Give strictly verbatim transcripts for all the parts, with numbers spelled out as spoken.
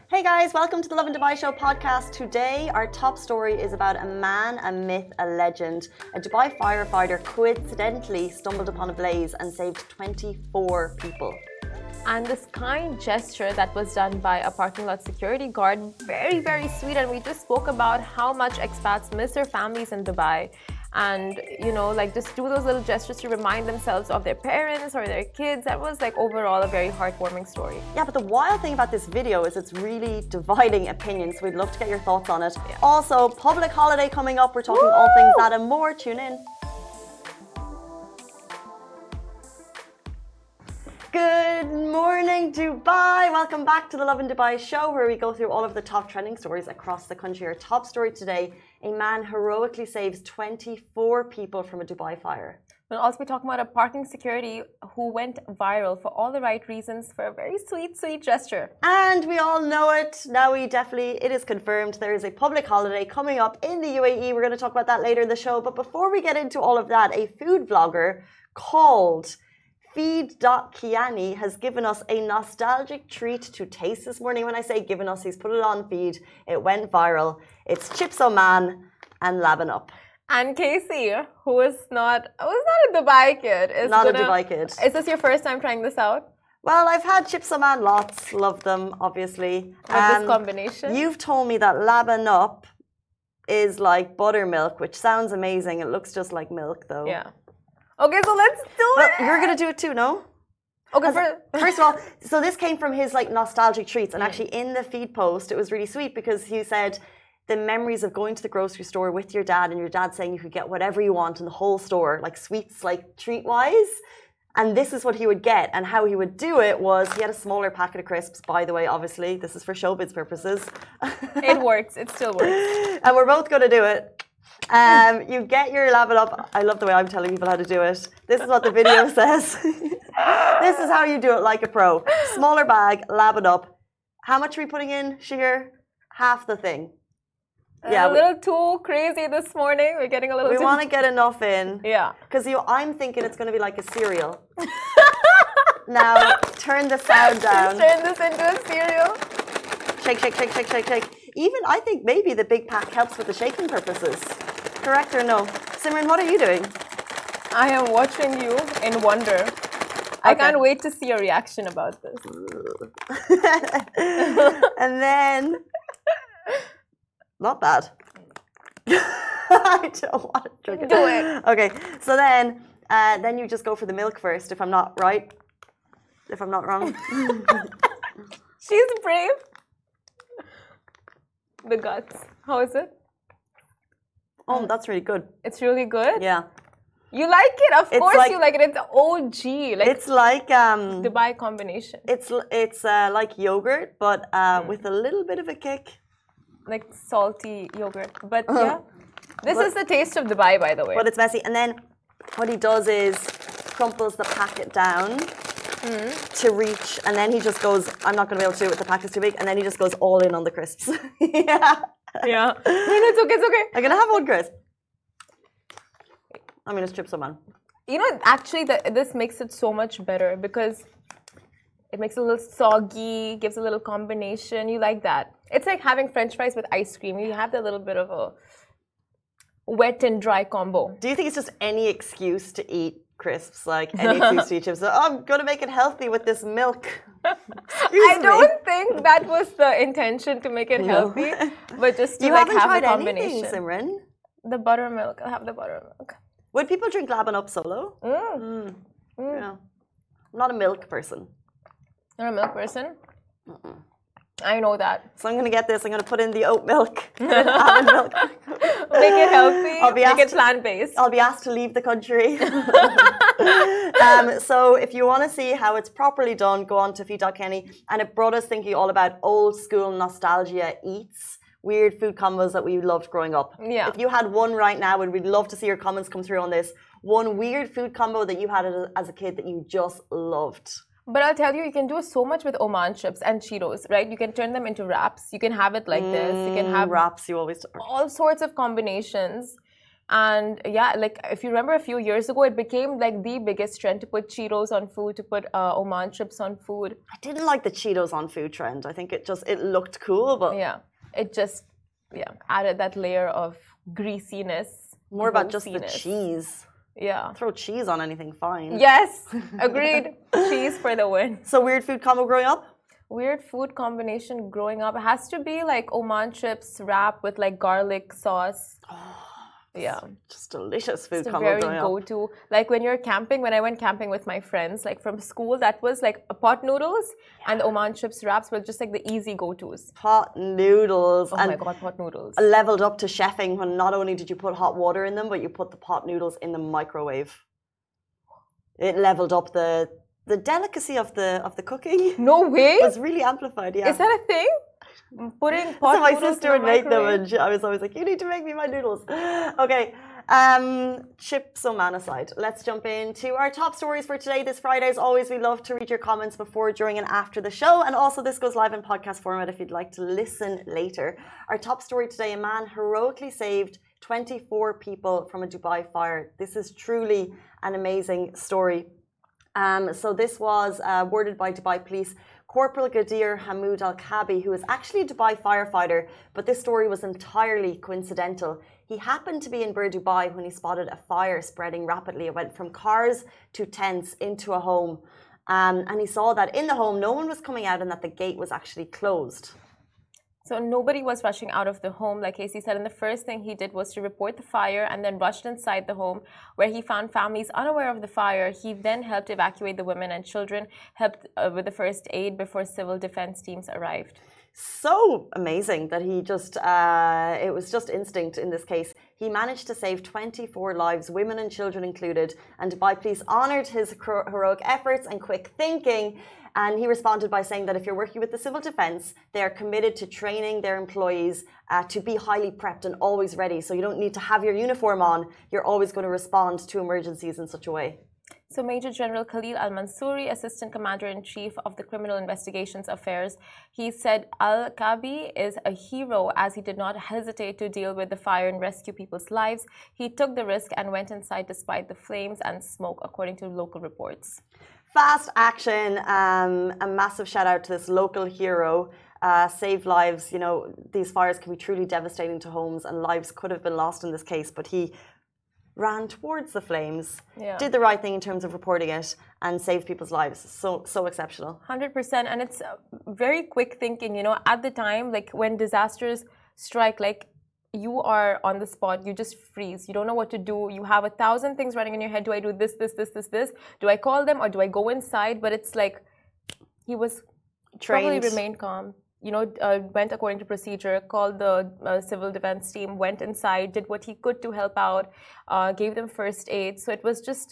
Hey guys, welcome to the Love in Dubai Show podcast. Today, our top story is about a man, a myth, a legend. A Dubai firefighter coincidentally stumbled upon a blaze and saved twenty-four people. And this kind gesture that was done by a parking lot security guard, very, very sweet. And we just spoke about how much expats miss their families in Dubai. And, you know, like just do those little gestures to remind themselves of their parents or their kids. That was like overall a very heartwarming story. Yeah, but the wild thing about this video is it's really dividing opinions. We'd love to get your thoughts on it. Yeah. Also, public holiday coming up. We're talking Woo! all things that and more. Tune in. Good morning, Dubai. Welcome back to the Love in Dubai show, where we go through all of the top trending stories across the country. Our top story today, a man heroically saves twenty-four people from a Dubai fire. We'll also be talking about a parking security who went viral for all the right reasons for a very sweet, sweet gesture. And we all know it. Now we definitely, it is confirmed, there is a public holiday coming up in the U A E. We're going to talk about that later in the show. But before we get into all of that, a food vlogger called Feed dot Kiani has given us a nostalgic treat to taste this morning. When I say given us, he's put it on Feed. It went viral. It's Chips Oman and Laban Up. And Casey, who is not, who's not a Dubai kid. Is not gonna, a Dubai kid. Is this your first time trying this out? Well, I've had Chips Oman lots. Love them, obviously. With um, this combination? You've told me that Laban Up is like buttermilk, which sounds amazing. It looks just like milk, though. Yeah. Okay, so let's do well, it. You're gonna do it too, no? Okay. For, first of all, so this came from his like nostalgic treats, and actually in the feed post, it was really sweet because he said the memories of going to the grocery store with your dad, and your dad saying you could get whatever you want in the whole store, like sweets, like treat-wise. And this is what he would get, and how he would do it was he had a smaller packet of crisps. By the way, obviously, this is for showbiz purposes. It works. It still works. And we're both gonna do it. Um, you get your Laban Up. I love the way I'm telling people how to do it. This is what the video says. This is how you do it like a pro. Smaller bag, Laban Up. How much are we putting in, Shahir? Half the thing. Yeah, a little we, too crazy this morning. We're getting a little. We too... want to get enough in. Yeah. Because you, I'm thinking it's going to be like a cereal. Now turn the sound down. Turn this into a cereal. Shake, shake, shake, shake, shake, shake. Even I think maybe the big pack helps with the shaking purposes. Correct or no? Simran, what are you doing? I am watching you in wonder. Okay. I can't wait to see your reaction about this. And then, not bad. I don't want to drink it. Do it. Okay, so then, uh, then you just go for the milk first, if I'm not right. If I'm not wrong. She's brave. The guts. How is it? Oh, that's really good. It's really good? Yeah. You like it? Of it's course like, you like it. It's O G. Like it's like um Dubai combination. It's it's uh, like yogurt, but uh, mm. with a little bit of a kick. Like salty yogurt. But uh, yeah. This but, is the taste of Dubai, by the way. But it's messy. And then what he does is crumples the packet down mm. to reach, and then he just goes, I'm not going to be able to do it with the packet's too big, and then he just goes all in on the crisps. Yeah. Yeah. No, no, it's okay, it's okay. I'm going to have one crisp. I'm going to strip some on. You know, actually, the, this makes it so much better because it makes it a little soggy, gives a little combination. You like that. It's like having French fries with ice cream. You have that little bit of a wet and dry combo. Do you think it's just any excuse to eat crisps, like any excuse to eat chips? So, oh, I'm going to make it healthy with this milk. I don't me. think that was the intention to make it no. healthy, but just to you like haven't have tried a combination. Anything, Simran? The buttermilk. I'll have the buttermilk. Would people drink Laban Up solo? Mm. Mm. Mm. Yeah. I'm not a milk person. You're a milk person? Mm-mm. I know that. So I'm going to get this. I'm going to put in the oat milk. Almond milk. Make it healthy. I'll be Make asked, it plant-based. I'll be asked to leave the country. um, so if you want to see how it's properly done, go on to Feed dot Kenny. And it brought us thinking all about old school nostalgia eats. Weird food combos that we loved growing up. Yeah. If you had one right now, we'd love to see your comments come through on this. One weird food combo that you had as a kid that you just loved. But I'll tell you, you can do so much with Oman chips and Cheetos, right? You can turn them into wraps. You can have it like mm, this. You can have wraps. You always all sorts of combinations. And yeah, like if you remember a few years ago, it became like the biggest trend to put Cheetos on food, to put uh, Oman chips on food. I didn't like the Cheetos on food trend. I think it just it looked cool, but yeah, it just yeah added that layer of greasiness. More about just the cheese. Yeah. Throw cheese on anything, fine. Yes, agreed. Cheese for the win. So weird food combo growing up? Weird food combination growing up. It has to be like Oman chips wrapped with like garlic sauce. Oh, yeah. Just delicious food it's combo very growing go-to. Like when you're camping, when I went camping with my friends, like from school, that was like pot noodles yeah. and Oman chips wraps were just like the easy go-tos. Pot noodles. Oh and my God, pot noodles. Leveled up to chefing when not only did you put hot water in them, but you put the pot noodles in the microwave. It leveled up the the delicacy of the of the cooking. No way. It was really amplified, yeah. Is that a thing? Putting pot so my noodles sister in would the make them microwave? and she, I was always like, you need to make me my noodles. Okay. Um, chips Oman aside, let's jump into our top stories for today. This Friday, as always, we love to read your comments before, during, and after the show. And also, this goes live in podcast format if you'd like to listen later. Our top story today: a man heroically saved twenty-four people from a Dubai fire. This is truly an amazing story. Um, so this was uh, worded by Dubai Police. Corporal Gadir Hamoud Al-Kabi, who is actually a Dubai firefighter, but this story was entirely coincidental. He happened to be in Bur Dubai when he spotted a fire spreading rapidly. It went from cars to tents into a home. Um, and he saw that in the home, no one was coming out and that the gate was actually closed. So nobody was rushing out of the home, like Casey said. And the first thing he did was to report the fire and then rushed inside the home where he found families unaware of the fire. He then helped evacuate the women and children, helped uh, with the first aid before civil defense teams arrived. So amazing that he just, uh, it was just instinct in this case. He managed to save twenty-four lives, women and children included. And Dubai Police honoured his heroic efforts and quick thinking. And he responded by saying that if you're working with the civil defence, they are committed to training their employees uh, to be highly prepped and always ready. So you don't need to have your uniform on. You're always going to respond to emergencies in such a way. So Major General Khalil Al-Mansouri, Assistant Commander-in-Chief of the Criminal Investigations Affairs, he said Al-Kabi is a hero as he did not hesitate to deal with the fire and rescue people's lives. He took the risk and went inside despite the flames and smoke, according to local reports. Fast action, um, a massive shout out to this local hero. Uh, saved lives. You know, these fires can be truly devastating to homes and lives could have been lost in this case, but he ran towards the flames, yeah. did the right thing in terms of reporting it, and saved people's lives. So, so exceptional. one hundred percent. And it's very quick thinking, you know, at the time, like when disasters strike, like you are on the spot, you just freeze. You don't know what to do. You have a thousand things running in your head. Do I do this, this, this, this, this? Do I call them or do I go inside? But it's like he was trained, probably remained calm. You know, uh, went according to procedure, called the uh, civil defense team, went inside, did what he could to help out, uh, gave them first aid. So it was just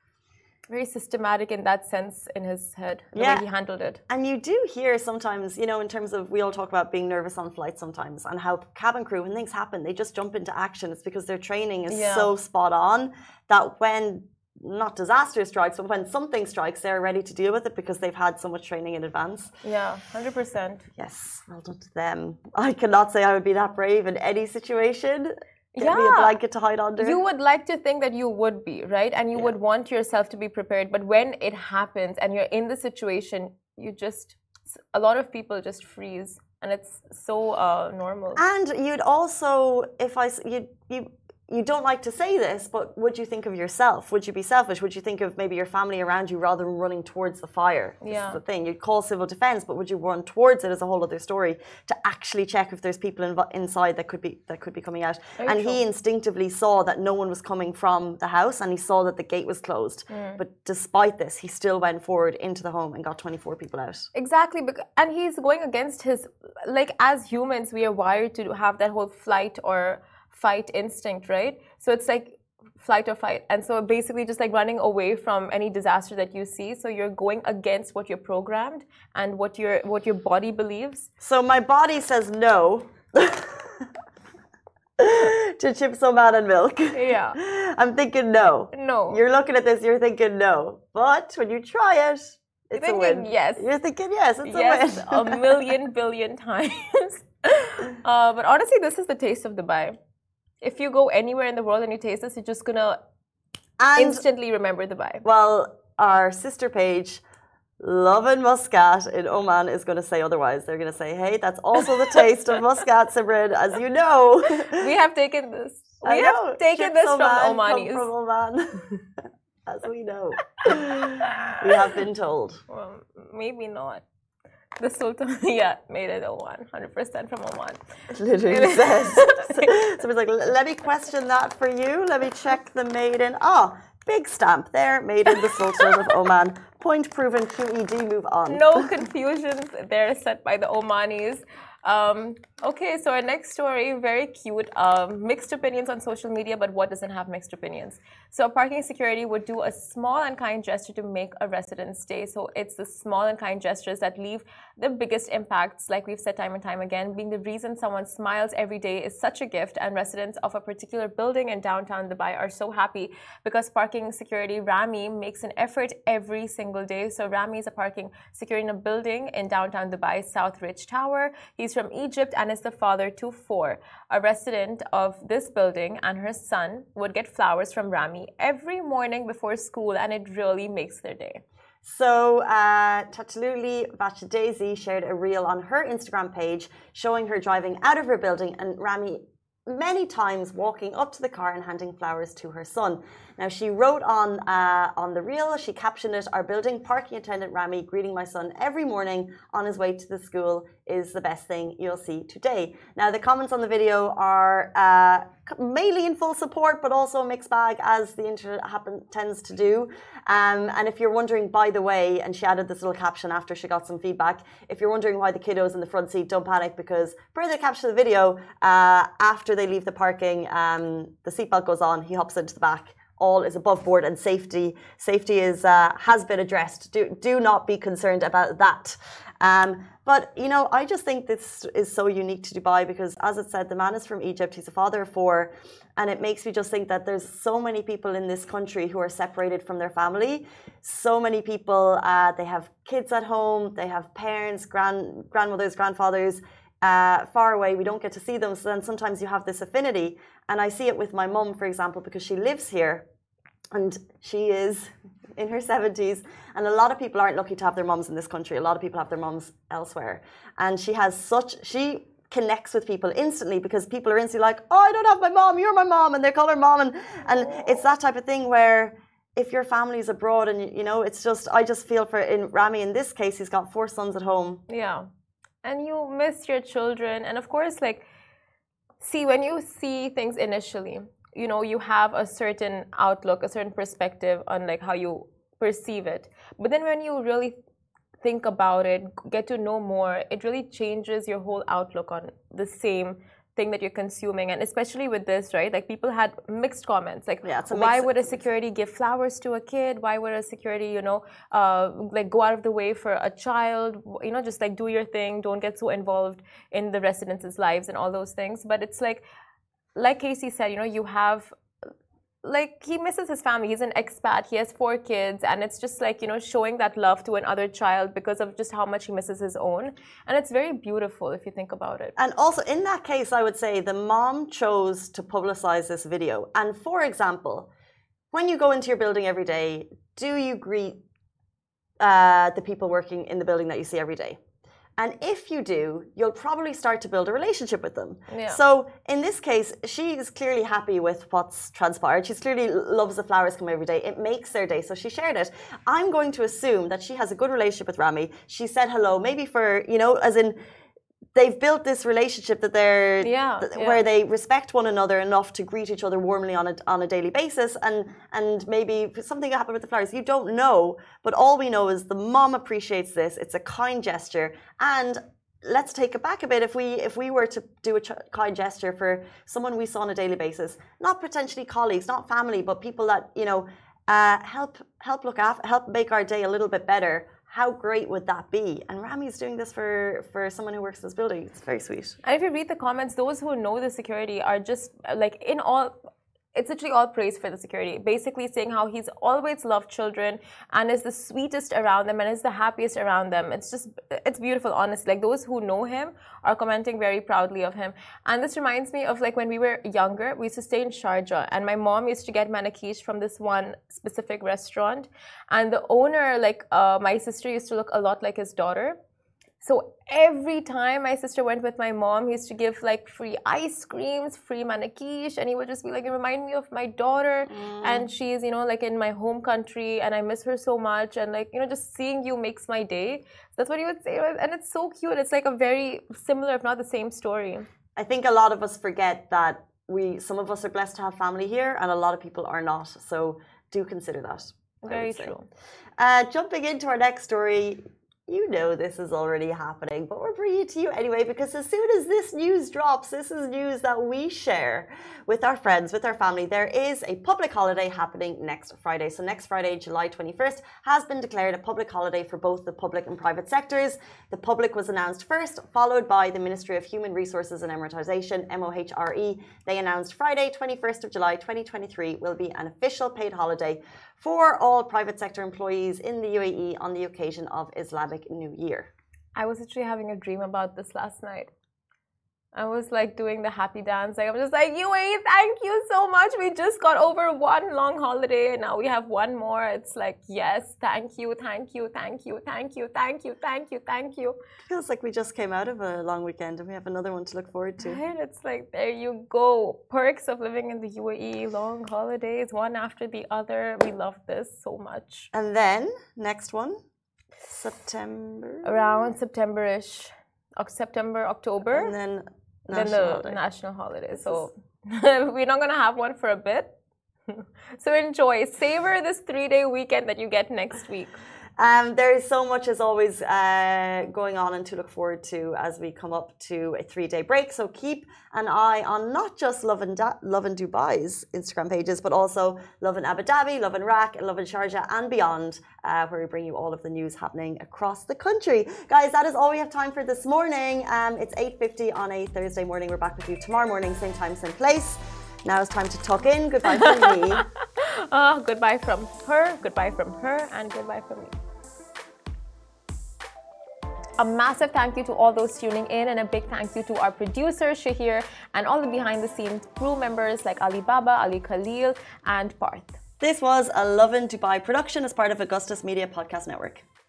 very systematic in that sense in his head, the yeah. way he handled it. And you do hear sometimes, you know, in terms of, we all talk about being nervous on flights sometimes and how cabin crew, when things happen, they just jump into action. It's because their training is yeah. so spot on that when not disaster strikes, but when something strikes, they're ready to deal with it because they've had so much training in advance. Yeah, one hundred percent. Yes, well done to them. I cannot say I would be that brave in any situation. Get yeah. me a blanket to hide under. You would like to think that you would be, right? And you yeah. would want yourself to be prepared. But when it happens and you're in the situation, you just, a lot of people just freeze. And it's so uh, normal. And you'd also, if I, you, you, you don't like to say this, but would you think of yourself? Would you be selfish? Would you think of maybe your family around you rather than running towards the fire? This yeah. is the thing. You'd call civil defense, but would you run towards it as a whole other story to actually check if there's people in, inside that could be that could be coming out? Very and true. he instinctively saw that no one was coming from the house, and he saw that the gate was closed. Mm. But despite this, he still went forward into the home and got twenty-four people out. Exactly, and he's going against his, like as humans, we are wired to have that whole flight or fight instinct, right? So it's like flight or fight. And so basically just like running away from any disaster that you see. So you're going against what you're programmed and what your what your body believes. So my body says no to chips Oman and milk. Yeah. I'm thinking no. No. You're looking at this, you're thinking no. But when you try it, it's you're a win. Yes. You're thinking yes, it's yes, a win. a million billion times. uh, but honestly, this is the taste of Dubai. if you go anywhere in the world and you taste this, you're just gonna and, instantly remember Dubai. Well, our sister page, Lovin Muscat in Oman, is going to say otherwise. They're going to say, hey, that's also the taste of Muscat, Simran, as you know. We have taken this. We I have know. taken Ships this from Oman the Omanis. Come from Oman. As we know. We have been told. Well, maybe not. The Sultan, yeah, made it Oman, one hundred percent from Oman. It literally says. So it's like, let me question that for you. Let me check the made in. Ah, big stamp there, made in the Sultan of Oman. Point proven, Q E D, move on. No confusions there set by the Omanis. Um, okay, so our next story, very cute. Um, mixed opinions on social media, but what doesn't have mixed opinions? So parking security would do a small and kind gesture to make a resident stay. So it's the small and kind gestures that leave the biggest impacts, like we've said time and time again, being the reason someone smiles every day is such a gift, and residents of a particular building in downtown Dubai are so happy because parking security Rami makes an effort every single day. So Rami is a parking security in a building in downtown Dubai, South Ridge Tower. He's from Egypt and is the father to four. A resident of this building and her son would get flowers from Rami every morning before school, and it really makes their day. So, uh, Tataluli Vachadaisy shared a reel on her Instagram page showing her driving out of her building and Rami many times walking up to the car and handing flowers to her son. Now, she wrote on uh, on the reel, she captioned it, our building parking attendant Rami greeting my son every morning on his way to the school is the best thing you'll see today. Now, the comments on the video are uh, mainly in full support, but also a mixed bag, as the internet happen, tends to do. Um, and if you're wondering, by the way, and she added this little caption after she got some feedback, if you're wondering why the kiddos in the front seat, don't panic, because per the caption of the video, uh, after they leave the parking, um, the seatbelt goes on, he hops into the back. All is above board, and safety safety is uh, has been addressed. Do do not be concerned about that. Um, but you know, I just think this is so unique to Dubai because, as it said, the man is from Egypt. He's a father of four, and it makes me just think that there's so many people in this country who are separated from their family. So many people, uh, they have kids at home, they have parents, grand grandmothers, grandfathers. Uh, far away, we don't get to see them, so then sometimes you have this affinity. And I see it with my mum, for example, because she lives here and she is in her seventies, and a lot of people aren't lucky to have their mums in this country. A lot of people have their mums elsewhere, and she has such she connects with people instantly because people are instantly like, oh, I don't have my mom, you're my mom, and they call her mom, and, and it's that type of thing where if your family is abroad and you know, it's just, I just feel for in Rami in this case, he's got four sons at home. Yeah. And you miss your children. And of course, like, see, when you see things initially, you know, you have a certain outlook, a certain perspective on like how you perceive it. But then when you really think about it, get to know more, it really changes your whole outlook on the same thing that you're consuming. And especially with this, right, like people had mixed comments, like yeah, why would a security give flowers to a kid, why would a security, you know, uh, like go out of the way for a child, you know, just like do your thing, don't get so involved in the residents' lives and all those things. But it's like like Casey said, you know, you have like he misses his family. He's an expat, he has four kids, and it's just like, you know, showing that love to another child because of just how much he misses his own. And it's very beautiful if you think about it. And also in that case, I would say the mom chose to publicize this video. And for example, when you go into your building every day, do you greet uh, the people working in the building that you see every day? And if you do, you'll probably start to build a relationship with them. Yeah. So in this case, she is clearly happy with what's transpired. She clearly loves the flowers come every day. It makes their day. So she shared it. I'm going to assume that she has a good relationship with Rami. She said hello, maybe for, you know, as in they've built this relationship that they're yeah, th- yeah. where they respect one another enough to greet each other warmly on a on a daily basis, and and maybe something happened with the flowers. You don't know, but all we know is the mom appreciates this. It's a kind gesture, and let's take it back a bit. If we if we were to do a ch- kind gesture for someone we saw on a daily basis, not potentially colleagues, not family, but people that you know uh, help help look after, help make our day a little bit better. How great would that be? And Rami's doing this for, for someone who works in this building. It's very sweet. And if you read the comments, those who know the security are just like in all, it's literally all praise for the security. Basically saying how he's always loved children and is the sweetest around them and is the happiest around them. It's just, it's beautiful, honestly. Like those who know him are commenting very proudly of him. And this reminds me of like when we were younger, we used to stay in Sharjah and my mom used to get manakish from this one specific restaurant. And the owner, like uh, my sister used to look a lot like his daughter. So every time my sister went with my mom, he used to give like free ice creams, free manakish, and he would just be like, "You remind me of my daughter, mm. and she's, you know, like in my home country, and I miss her so much, and like, you know, just seeing you makes my day." That's what he would say, and it's so cute. It's like a very similar, if not the same story. I think a lot of us forget that we, some of us are blessed to have family here, and a lot of people are not. So do consider that. Very true. Uh, jumping into our next story. You know this is already happening, but we're bringing it to you anyway because as soon as this news drops, this is news that we share with our friends, with our family. There is a public holiday happening next Friday. So next Friday, July twenty-first, has been declared a public holiday for both the public and private sectors. The public was announced first, followed by the Ministry of Human Resources and Emiratization, M O H R E. They announced Friday, twenty-first of July twenty twenty-three, will be an official paid holiday for all private sector employees in the U A E on the occasion of Islamic New Year. I was actually having a dream about this last night. I was like doing the happy dance. Like, I'm just like, U A E, thank you so much. We just got over one long holiday and now we have one more. It's like, yes, thank you, thank you, thank you, thank you, thank you, thank you, thank you. It feels like we just came out of a long weekend and we have another one to look forward to. Right? It's like, there you go. Perks of living in the U A E, long holidays, one after the other. We love this so much. And then, next one, September? Around September-ish. September, October. And then Then the holiday. national holiday. So we're not going to have one for a bit. So enjoy. Savor this three-day weekend that you get next week. Um, there is so much as always uh, going on and to look forward to as we come up to a three-day break. So keep an eye on not just Love and, da- Love and Dubai's Instagram pages, but also Love in Abu Dhabi, Love in Iraq, and Love in Sharjah and beyond, uh, where we bring you all of the news happening across the country. Guys, that is all we have time for this morning. Um, it's eight fifty on a Thursday morning. We're back with you tomorrow morning, same time, same place. Now it's time to tuck in. Goodbye from me. Oh, goodbye from her, goodbye from her, and goodbye from me. A massive thank you to all those tuning in and a big thank you to our producer, Shahir, and all the behind-the-scenes crew members like Ali Baba, Ali Khalil, and Parth. This was a Love in Dubai production as part of Augustus Media Podcast Network.